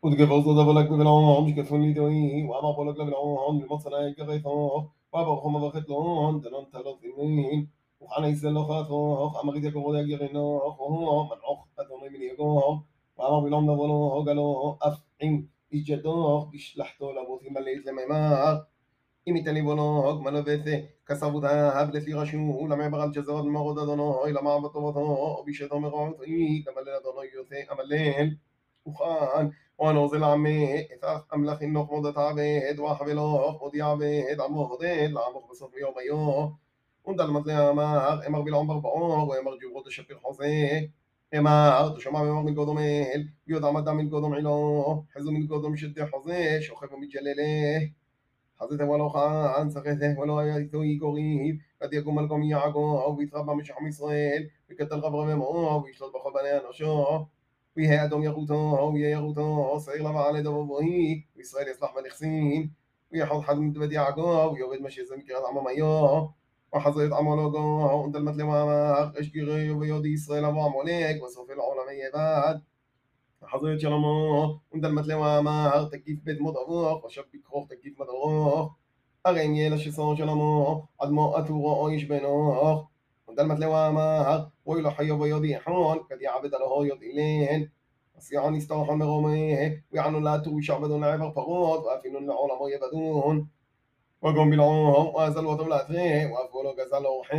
وتجفظ ضبلك ببلعهم شكفون لدوي وأما بولك لبلعهم لمصنع كغيثوه وأبرهم بخت لهم دلون تلوثين وخانا يسلو خاثوه أما غيد يقول يجرينوه وهو منعوخ أدوني من يقوه وأما بلعهم نبولوه قالوه أفعين إجدوه بشلحتو لبوثي مليت لميمار אם ייתן לי בונו, גמל ובצע, כסבותיו, לפי רשום, למה ברל ג'זרות מרוד אדונו, למה בטובתו, בישתו מרועי, גם הלל אדונו יוצא, המלל, וכאן, ואנו זה לעמי, אתך אמלך חינוך מודת עבד, וחבלוך, מודי עבד, עמו הודד, לעמוך בסוף יום היום, ונדל מזלה אמר, אמר בלעום ברבעור, ואמר ג'וברו תשפיר חוזה, אמר, תשמע ואמר מלכודו מל, ויודע מדע מלכודו מעילו, חזו מלכודו משתי חוזה, שוכב ומתגללה, حضرت ولو خان سخته ولو يتوي قريب قد يكون ملكم يعقوب أو بيتربى مش عم إسرائيل بكتل غبر ممو ويشلط بخل بني أنوشو ويها أدم يغوتو ويا يغوتو صغير لما على دبوبوهي وإسرائيل يصلح ملخسين ويحط حد من دبت يعقوب ويوغد مشي زمي كرات عمام أيوه وحضرت عمولوغو وانت المتلم عماق اشقري ويودي إسرائيل أبو عموليك وسوف العالم يباد حضرت שלמה, ונדלמת למאמר, תקיף בית מות ארוך, ושב בכרוך תקיף מד ארוך, הרי אם יהיה לשסון שלמה, עד מות עטורו איש בנוך, ונדלמת למאמר, רואי לו חיו ויודיחון, כד יעבד עלהו יודעילן, עשיעון יסתוחון מרומה, ויענו לעטור ישעבדון לעבר פרות, ואפינון לעולמו יבדון, וגום בלעום, ואזל אותם לעטרה, ואפו לו גזל אורחה,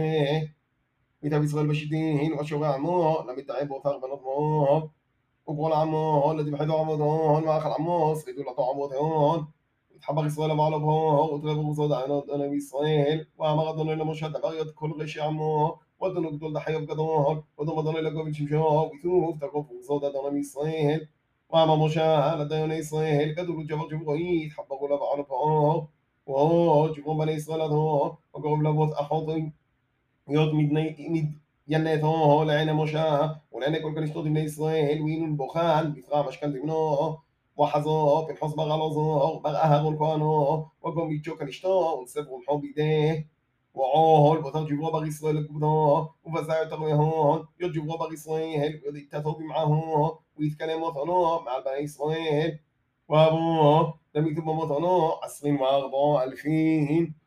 מיטב ישראל בשיטין, ושורע עמו, למתעב אותר בנות מו, وقول عمو الذي بحدو عمودهون واخر عمو صيدو لطو عمودهون وتحبر إسرائيل بعلبهون وتغيبوا بصود عنود أنا بإسرائيل وما غضنوا إلا مشهد بغيض كل غشي عمو ودنوا قدول دحية بقدرون ودنوا مضنوا إلا قبل شمشوه ويثوف تقفوا بصود أنا بإسرائيل وما مشاهد لديون إسرائيل قدروا جبر جبريت حبروا لبعلبهون وهو جبروا بني إسرائيل هون وقرب لبوت أحوطي يود مد ינתו לעין המשה ולעיני כל כנשתות בני ישראל ואינון בוחן בפרע משכן תמנו וחזו פנחוס בר אלעזר בר אהרון כהנו וגום ביצ'ו כנשתו ונסב רומחו בידי ועול בותר ג'ברו בר ישראל לכבודו ובזה יותר מהון יוד ג'ברו בר ישראל ויוד יתתו במעהו ויתקלם מותנו מעל בני ישראל ואבו דמיתו במותנו 24,000